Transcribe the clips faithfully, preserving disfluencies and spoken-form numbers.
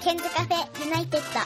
ケンズカフェユナイテッド。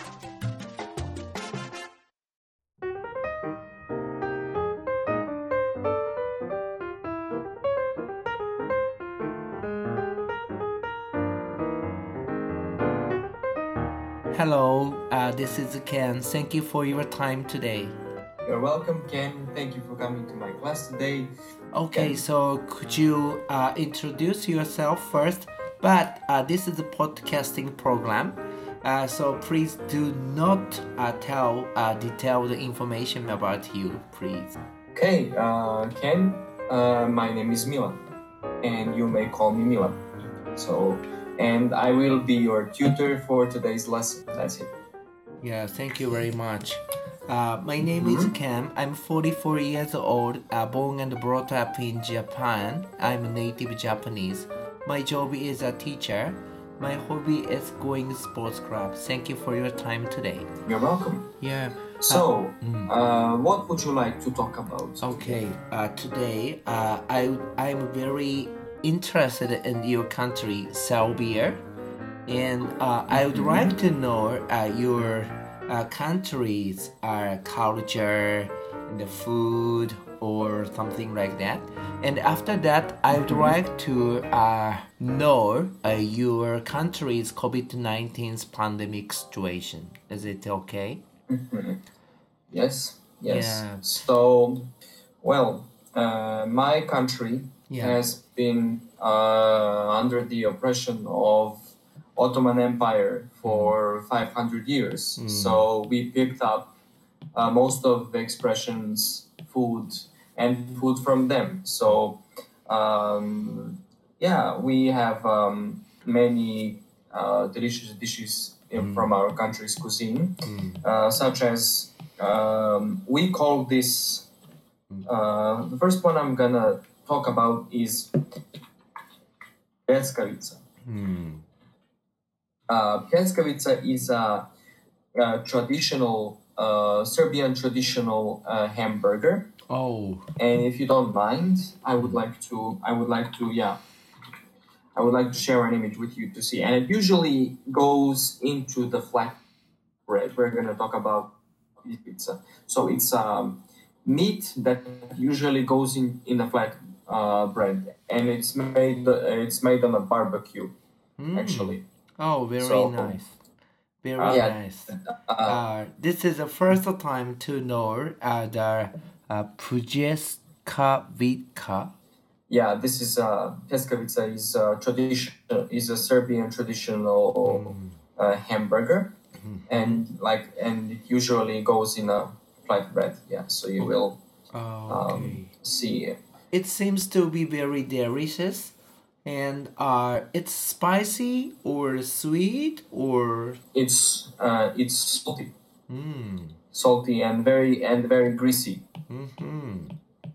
Hello, uh, this is Ken. Thank you for your time today. You're welcome, Ken. Thank you for coming to my class today. Okay, Ken. so could you uh, introduce yourself first? But uh, this is a podcasting program, uh, so please do not uh, tell uh, detailed information about you, please. Okay, uh, Ken, uh, my name is Milan, and you may call me Milan. So, and I will be your tutor for today's lesson. That's it. Yeah, thank you very much. Uh, my name mm-hmm. is Cam. I'm forty-four years old, uh, born and brought up in Japan. I'm native Japanese. My job is a teacher. My hobby is going sports club. Thank you for your time today. You're welcome. Yeah. So, uh, mm. uh, what would you like to talk about? Okay. Uh, today, uh, I I'm very interested in your country, Serbia, and uh, I would mm-hmm. like to know uh, your uh, country's uh, culture, the food, or something like that. And after that, I would like to uh, know uh, your country's COVID nineteen pandemic situation. Is it okay? Mm-hmm. Yes, yes. Yeah. So, well, uh, my country yeah. has been uh, under the oppression of Ottoman Empire for mm. five hundred years. Mm. So we picked up uh, most of the expressions, food, and food from them. So, um, yeah, we have um, many uh, delicious dishes in, mm. from our country's cuisine, mm. uh, such as um, we call this. Uh, the first one I'm gonna talk about is pljeskavica. Mm. Uh, pljeskavica is a, a traditional uh, Serbian traditional uh, hamburger. Oh. And if you don't mind, I would like to. I would like to. Yeah. I would like to share an image with you to see. And it usually goes into the flat bread. We're going to talk about pizza. So it's um, meat that usually goes in in a flat uh, bread, and it's made. Uh, it's made on a barbecue, mm. actually. Oh, very so, nice. Very uh, yeah. nice. Uh, this is the first time to know uh, the uh, pljeskavica. Yeah, this is uh, pljeskavica is a tradition. Is a Serbian traditional mm. uh, hamburger, mm-hmm. and like and it usually goes in a flat bread. Yeah, so you will oh, okay. um, see it. It seems to be very delicious. And uh, it's spicy or sweet or it's uh, it's salty, mm. salty and very and very greasy. Mm-hmm.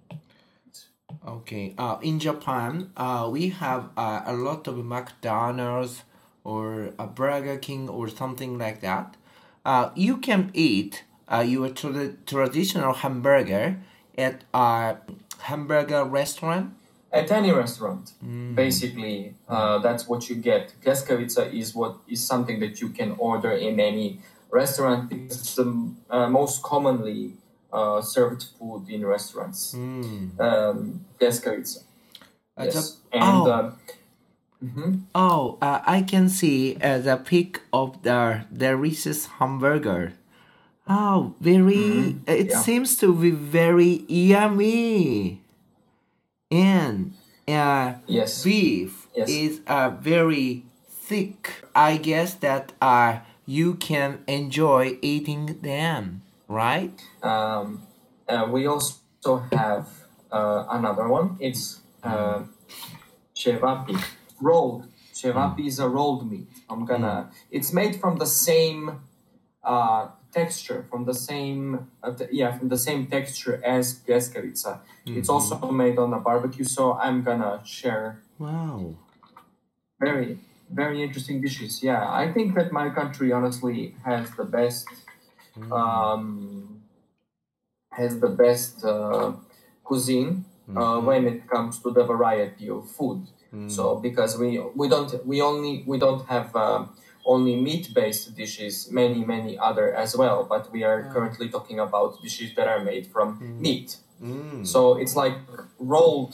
Okay. Uh, in Japan, uh, we have uh, a lot of McDonald's or a Burger King or something like that. Uh, you can eat uh, your tra- traditional hamburger at a hamburger restaurant. At any restaurant, mm. basically, uh, that's what you get. Pljeskavica is what is something that you can order in any restaurant. It's the uh, most commonly uh, served food in restaurants. Mm. Um, Pljeskavica. Uh, yes. the, and, oh, uh, mm-hmm. oh uh, I can see uh, the pic of the delicious hamburger. Oh, very. Mm-hmm. It yeah. seems to be very yummy. And uh, yes. beef yes. is uh, very thick. I guess that uh, you can enjoy eating them, right? Um, uh, we also have uh, another one. It's uh, cevapi, rolled. Cevapi mm. is a rolled meat. I'm gonna. Mm. It's made from the same uh, texture, from the same uh, t- yeah, from the same texture as pljeskavica. Mm-hmm. It's also made on a barbecue, so I'm gonna share. Wow. Very, very interesting dishes. Yeah, I think that my country honestly has the best, mm. um, has the best uh, cuisine mm-hmm. uh, when it comes to the variety of food. Mm. So because we we don't we only we don't have uh, only meat-based dishes, many, many other as well. But we are currently talking about dishes that are made from Mm. meat. Mm. So it's like rolled,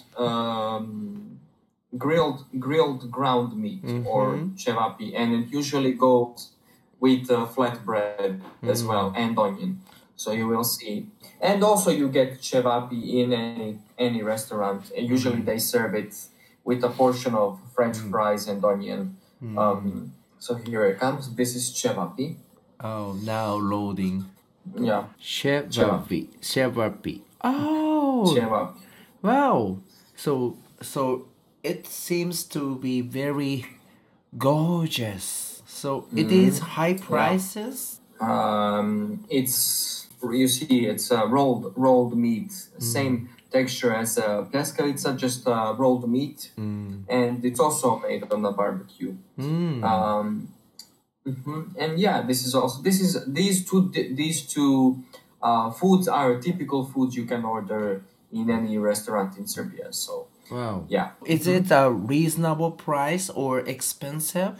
um, grilled, grilled ground meat or Mhm. cevapi, and it usually goes with uh, flatbread as Mm. well and onion. So you will see, and also you get cevapi in any any restaurant, and usually Mm. they serve it with a portion of French Mm. fries and onion. Mm. Um, so here it comes. This is cevapi. Oh, now loading. Yeah, Cevapi. Cevapi. Oh, cevapi. wow. So, so it seems to be very gorgeous. So it is high prices. Um, it's you see, it's uh, rolled rolled meat, same texture as uh, pleskalica, just uh, rolled meat, Mm. and it's also made on a barbecue. Mm. Um, mhm. And yeah, this is also this is these two these two uh, foods are typical foods you can order in any restaurant in Serbia. So Wow. yeah, Is it a reasonable price or expensive?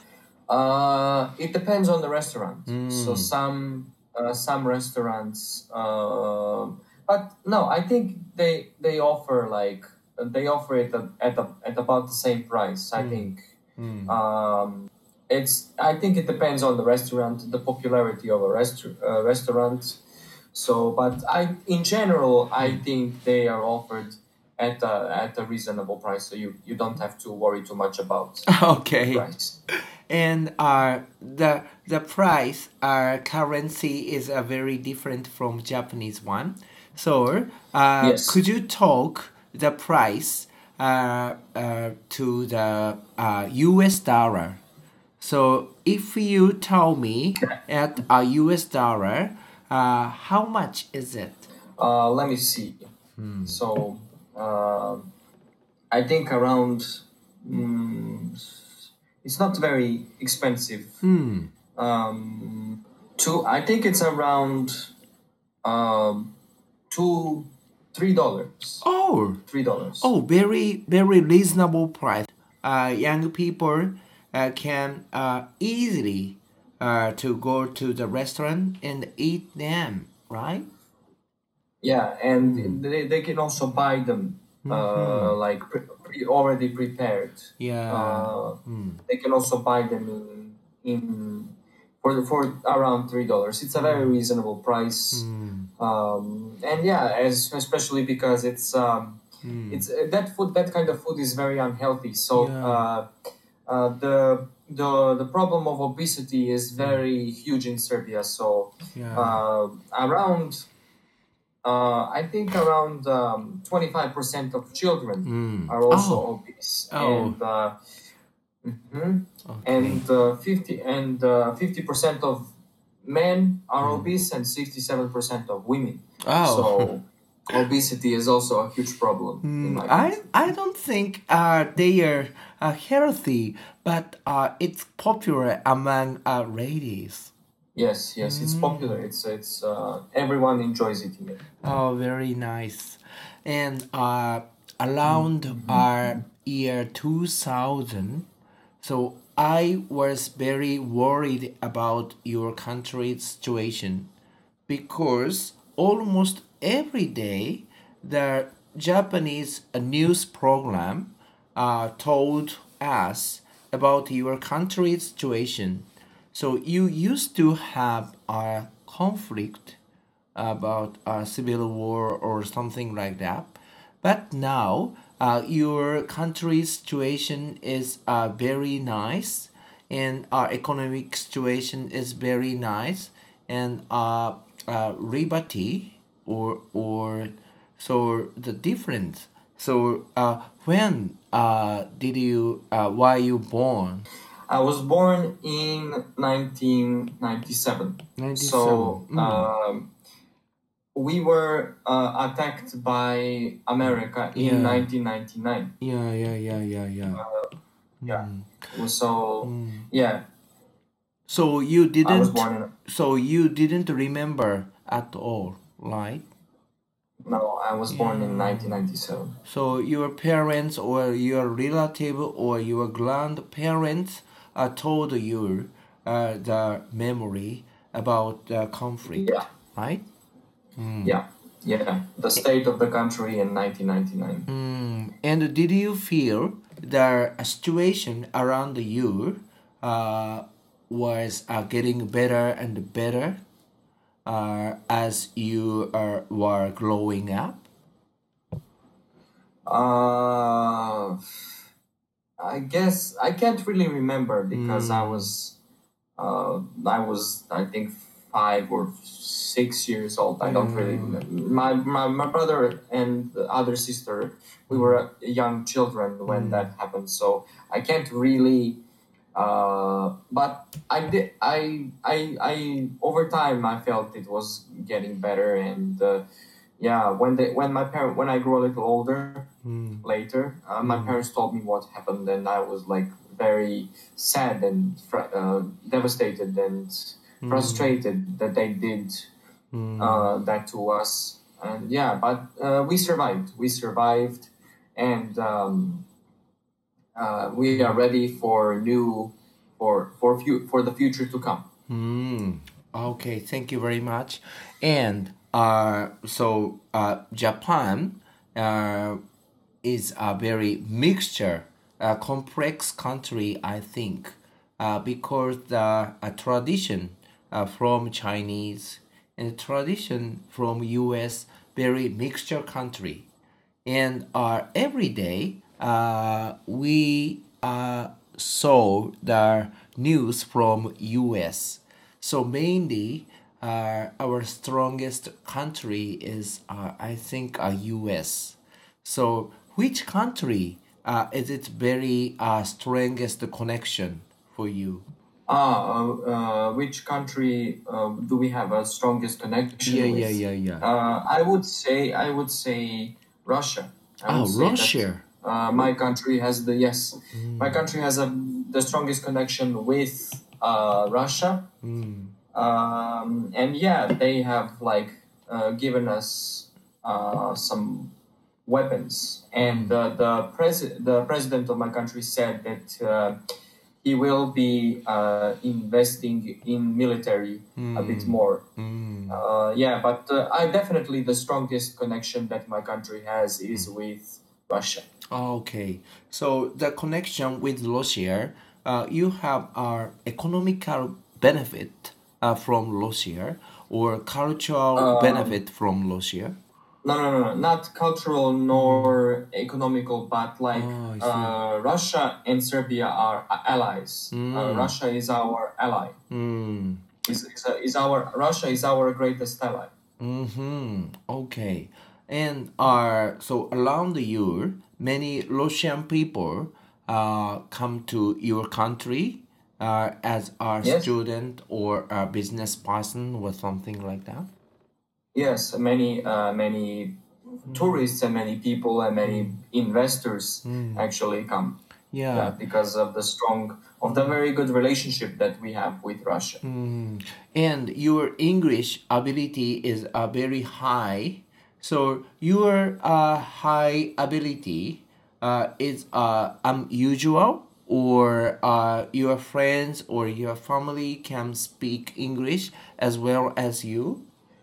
uh, it depends on the restaurant. So Mm. some uh, some restaurants, uh, but no, I think they they offer like they offer it at at, a, at about the same price. I think. Mm. Um, it's. I think it depends on the restaurant, the popularity of a restaur- uh, restaurant. So, but I, in general, I think they are offered at a, at a reasonable price. So you, you don't have to worry too much about Okay. price. And uh, the the price, uh, currency is uh, very different from Japanese one. So uh, Yes. could you talk the price uh, uh, to the uh, U S dollar? So if you tell me at a U S dollar, uh, how much is it? Uh, let me see. So uh, I think around. Mm, it's not very expensive. Hmm. Um, two. I think it's around um, two, three dollars. Oh, Three dollars. oh, very very reasonable price. Uh, young people uh, can uh, easily uh, to go to the restaurant and eat them, right? Yeah, and they, they can also buy them uh, like pre, pre, already prepared. Yeah. Uh, Mm. They can also buy them in in for for around three dollars. It's a very reasonable price. Um, and yeah, as especially because it's um, it's uh, that food that kind of food is very unhealthy. So Yeah. uh, uh, the the the problem of obesity is very huge in Serbia. So Yeah. uh, around uh, I think around um, twenty-five percent of children Mm. are also Oh. obese, Oh. and uh, mhm. Okay. and uh, fifty and uh, fifty percent of men are Mm. obese, and sixty-seven percent of women. Oh. So obesity is also a huge problem in Mm, my I country. I don't think uh, they are uh, healthy, but uh, it's popular among uh, ladies. Yes, yes, it's popular. It's it's uh, everyone enjoys eating it. Oh, very nice. And uh, around our year two thousand, so I was very worried about your country's situation because almost every day the Japanese uh, news program uh, told us about your country's situation. So you used to have a conflict about a civil war or something like that. But now uh, your country's situation is uh, very nice, and our economic situation is very nice, and uh, uh, liberty or or so the difference. So uh, when uh, did you uh, why you born? I was born in nineteen ninety-seven. So ninety-seven. Mm. um, we were uh, attacked by America in Yeah. nineteen ninety-nine. Yeah, yeah, yeah, yeah, yeah. Yeah. So yeah, So you I was didn't. born in. So you didn't remember at all, right? No, I was born in nineteen ninety-seven. So your parents or your relative or your grandparents uh, told you uh, the memory about the conflict, Yeah, right? yeah, yeah. The state of the country in nineteen ninety-nine. Mm, and did you feel the situation around you uh, was uh, getting better and better uh, as you uh, were growing up? Uh, I guess I can't really remember because I Mm, was uh, I was I think five or six years old. I don't really yeah. remember. My my, my brother and the other sister, we Mm, were young children when mm, that happened. So I can't really. Uh, but I did. I I I over time I felt it was getting better, and uh, yeah, when they when my parent when I grew a little older mm, later, uh, my mm, parents told me what happened, and I was like very sad and fr- uh, devastated and mm, frustrated that they did mm, uh, that to us. And yeah, but uh, we survived. We survived, and um, uh, we are ready for new for for fu- for the future to come. mm. Okay, thank you very much. And uh, so uh, Japan uh, is a very mixture, a complex country, I think, uh, because the a tradition uh, from Chinese and tradition from U S very mixture country, and uh, every day uh, we uh, saw the news from U S. So mainly uh, our strongest country is uh, I think uh, U S. So which country uh, is it very uh, strongest connection for you? Ah, uh, uh, which country uh, do we have a strongest Yeah, connection yeah, with? yeah, yeah. Uh, I would say I would say Russia. I would Oh, say that Russia. uh, my country has the yes, my Mm, country has a the strongest connection with uh, Russia. mm, Um, and yeah, they have like uh, given us uh, some weapons, and mm, the the, pres- the president of my country said that uh, he will be uh, investing in military a bit mm, more. mm. Uh, yeah, but uh, I definitely the strongest connection that my country has is with Russia. Okay, so the connection with Russia, uh, you have our economical benefit uh, from Russia or cultural Um, benefit from Russia. no, no, no, no, not cultural Mm. nor economical, but like Oh, I see. uh, Russia and Serbia are allies. Uh, Mm. Russia is our ally. Mm. Is is, uh, is our Russia is our greatest ally. Mm-hmm. Okay. And uh, so around the year, many Russian people uh, come to your country uh, as a Yes. student or a business person or something like that. Yes, many uh, many tourists and many people and many investors Mm. actually come. Yeah, Yeah. because of the strong of the very good relationship that we have with Russia. Mm. And your English ability is uh, very high. So your uh, high ability uh, is uh, unusual, or uh, your friends or your family can speak English as well as you.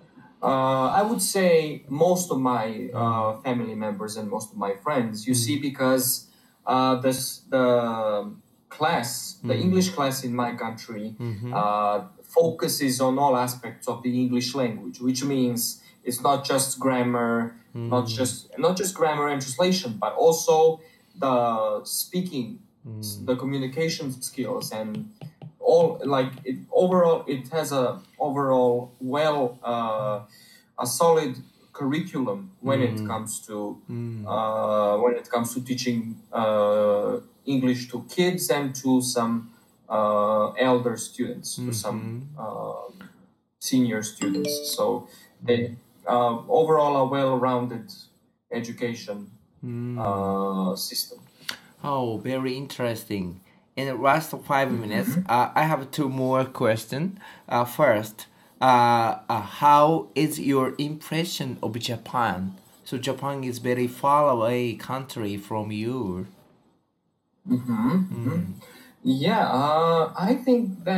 Uh, I would say most of my Mm. uh, family members and most of my friends, you Mm. see, because uh, this, the class, the Mm. English class in my country, Mm-hmm. uh, focuses on all aspects of the English language, which means it's not just grammar, not Mm. just not just grammar and translation, but also the speaking, Mm. the communication skills, and all like it overall it has a overall well uh, a solid curriculum when it Mm. comes to Mm. uh, when it comes to teaching uh, English to kids and to some uh, elder students, to some Mm-hmm. uh, senior students. So they uh, overall a well-rounded education Mm. uh, system. Oh, very interesting. In the last five minutes, Mhm. uh, I have two more questions. Uh, first, uh, uh, how is your impression of Japan? So Japan is very far away country from you. Mm-hmm. Mm-hmm. Mm, Yeah, uh, I think that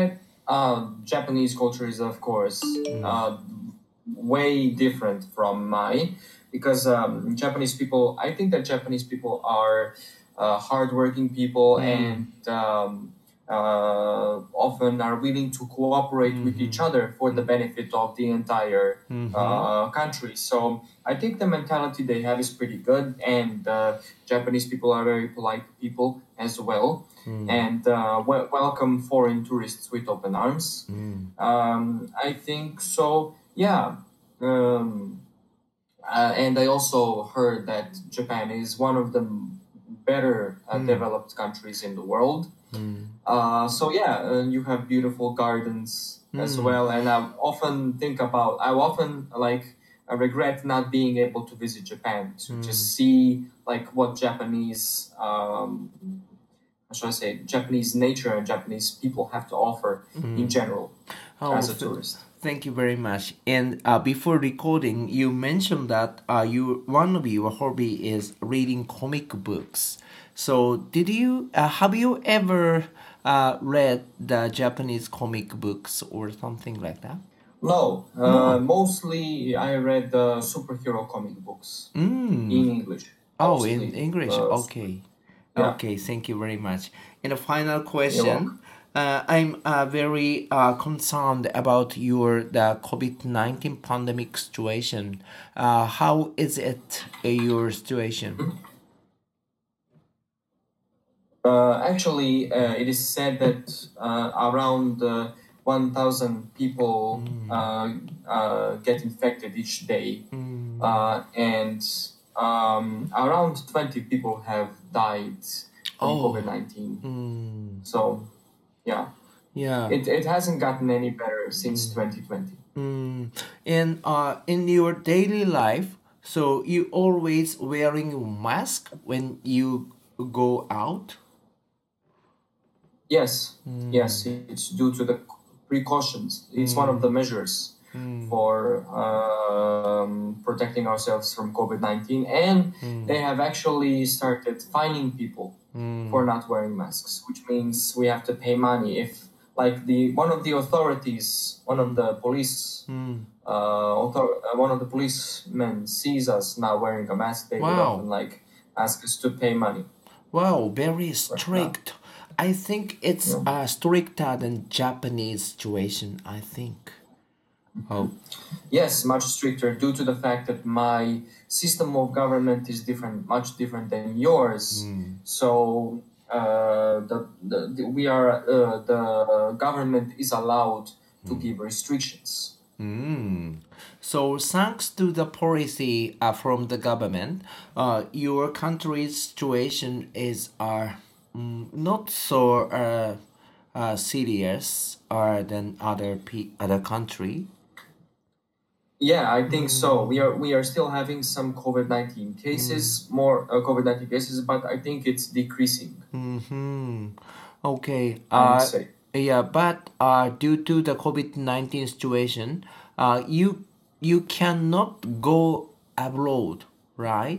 uh, Japanese culture is, of course, uh, way different from mine because um, Japanese people, I think that Japanese people are uh, hardworking people and um, uh, often are willing to cooperate with each other for the benefit of the entire uh, country. So I think the mentality they have is pretty good, and uh, Japanese people are very polite people as well, and uh, wel- welcome foreign tourists with open arms. Um, I think so. Yeah. Um, uh, and I also heard that Japan is one of the better uh, developed countries in the world. Uh, so yeah, uh, you have beautiful gardens as well, and I often think about. I often like I regret not being able to visit Japan to just see like what Japanese, um, how should I say, Japanese nature and Japanese people have to offer in general Oh, as a th- tourist. thank you very much. And uh, before recording, you mentioned that uh, you one of your hobby is reading comic books. So, did you uh, have you ever uh, read the Japanese comic books or something like that? No, uh, mostly I read uh, superhero comic books in English. Oh, in Mostly, English. uh, Okay. yeah, Okay, thank you very much. And a final you're question. welcome. Uh, I'm uh, very uh, concerned about your the COVID nineteen pandemic situation. Uh, how is it uh, your situation? Uh, actually, uh, it is said that uh, around uh, one thousand people uh, uh, get infected each day, uh, and um, around twenty people have died from Oh, COVID nineteen. mm, So, yeah, yeah. it, it hasn't gotten any better since twenty twenty. Mm. And uh, in your daily life, so you always wearing a mask when you go out? Yes, yes, it's due to the precautions. It's one of the measures for um, protecting ourselves from COVID nineteen. And they have actually started fining people for not wearing masks, which means we have to pay money. If, like, the one of the authorities, one of the police, uh, author- uh, one of the policemen sees us not wearing a mask, they would often, Wow. like, ask us to pay money. Wow, very Right now. strict. I think it's Yeah. uh, stricter than Japanese situation, I think. Oh. Yes, much stricter due to the fact that my system of government is different, much different than yours. So uh, the, the, the we are uh, the government is allowed to give restrictions. Mm. So thanks to the policy uh, from the government, uh, your country's situation is uh, mm, not so uh, uh, serious uh, than other pe- other country. Yeah, I think so. We are we are still having some COVID nineteen cases, more uh, COVID nineteen cases, but I think it's decreasing. Mm-hmm. Okay. I would Uh, say. yeah, but uh, due to the COVID nineteen situation, uh, you you cannot go abroad, right?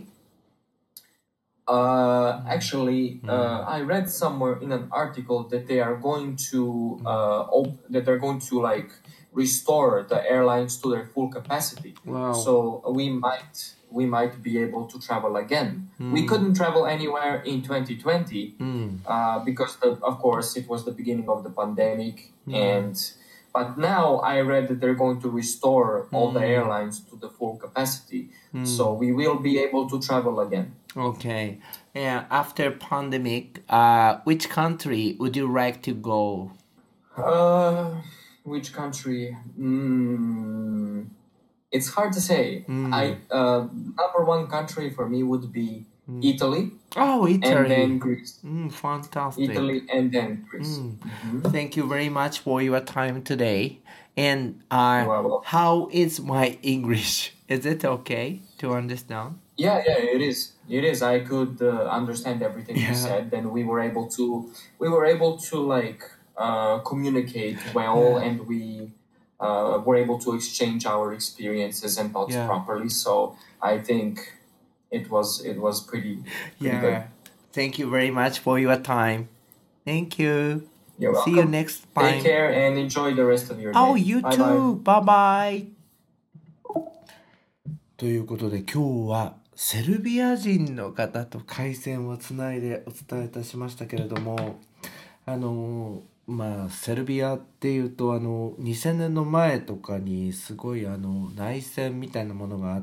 Uh, actually, uh, I read somewhere in an article that they are going to uh, op- that they're going to like restore the airlines to their full capacity. Wow. So we might we might be able to travel again. We couldn't travel anywhere in twenty twenty uh, because the, of course it was the beginning of the pandemic, and but now I read that they're going to restore all the airlines to the full capacity. So we will be able to travel again. Okay. Yeah, after pandemic, uh, which country would you like to go? Uh, which country? Mm, it's hard to say. I uh, number one country for me would be Italy, Oh, and then Italy. Greece. Mm, fantastic. Italy and then Greece. Mhm. Thank you very much for your time today. And You uh, are welcome. how is my English? Is it okay to understand? Yeah, yeah, it is. It is. I could uh, understand everything you Yeah. said. Then we were able to, we were able to like uh, communicate well, and we uh, were able to exchange our experiences and thoughts Yeah. properly. So I think it was it was pretty pretty good. Yeah. Thank you very much for your time. Thank you. You're See welcome. you next time. Take care and enjoy the rest of your day. Oh, you bye too. Bye bye. ということで今日はセルビア人の方と回線をつないでお伝えいたしましたけれども、あのまあセルビアっていうとあのにせんねんの前とかにすごいあの内戦みたいなものがあって、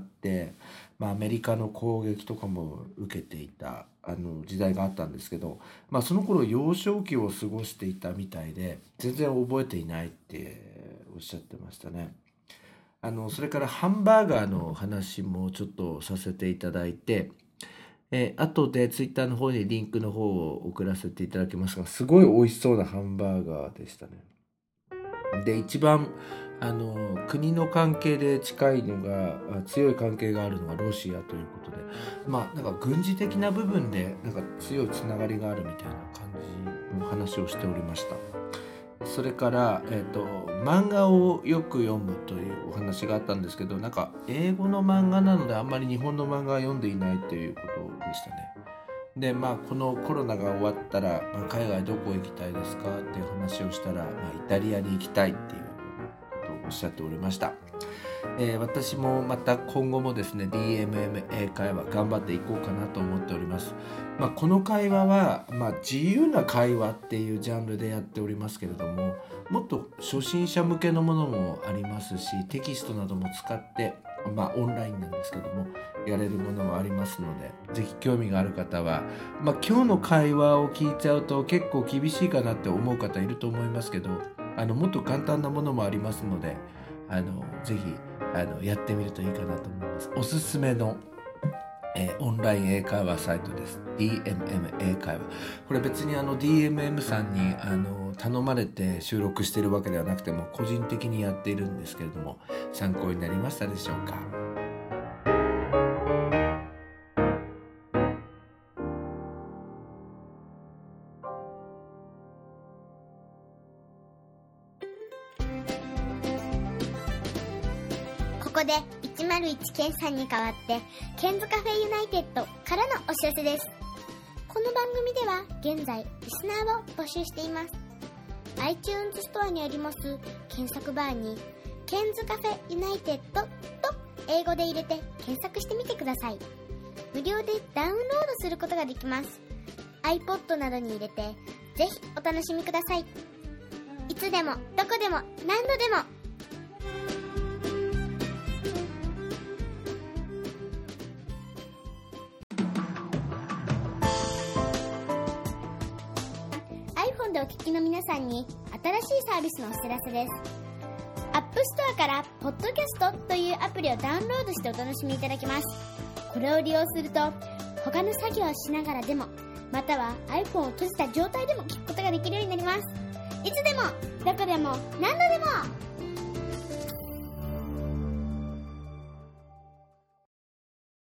まあ、アメリカの攻撃とかも受けていたあの時代があったんですけど、まあ、その頃幼少期を過ごしていたみたいで全然覚えていないっておっしゃってましたね。あのそれからハンバーガーの話もちょっとさせていただいて、えー、後でツイッターの方にリンクの方を送らせていただきますが、すごい美味しそうなハンバーガーでしたね。で一番あの国の関係で近いのが強い関係があるのがロシアということで、まあなんか軍事的な部分でなんか強いつながりがあるみたいな感じの話をしておりました。それから、えーと、漫画をよく読むというお話があったんですけど、なんか英語の漫画なのであんまり日本の漫画は読んでいないということでしたね。でまあこのコロナが終わったら、まあ、海外どこ行きたいですかっていう話をしたら、まあ、イタリアに行きたいっていうことをおっしゃっておりました。えー、私もまた今後もですね ディーエムエム 英会話頑張っていこうかなと思っております。まあ、この会話は、まあ、自由な会話っていうジャンルでやっておりますけれども、もっと初心者向けのものもありますし、テキストなども使って、まあ、オンラインなんですけどもやれるものもありますので、ぜひ興味がある方は、まあ、今日の会話を聞いちゃうと結構厳しいかなって思う方いると思いますけど、あのもっと簡単なものもありますので、あのぜひあのやってみるといいかなと思います。おすすめのえー、オンライン英会話サイトです。 ディーエムエム 英会話。これ別にあの ディーエムエム さんにあの頼まれて収録しているわけではなくても個人的にやっているんですけれども、参考になりましたでしょうか。 ここでいちまるいちケンさんに代わってケンズカフェユナイテッドからのお知らせです。この番組では現在リスナーを募集しています。 iTunes ストアにあります検索バーにケンズカフェユナイテッドと英語で入れて検索してみてください。無料でダウンロードすることができます。 iPod などに入れてぜひお楽しみください。いつでもどこでも何度でもでお聞きの皆さんに新しいサービスのお知らせです。アップストアからポッドキャストというアプリをダウンロードしてお楽しみいただけます。これを利用すると他の作業をしながらでも、または iPhone を閉じた状態でも聞くことができるようになります。いつでもどこでも何度でも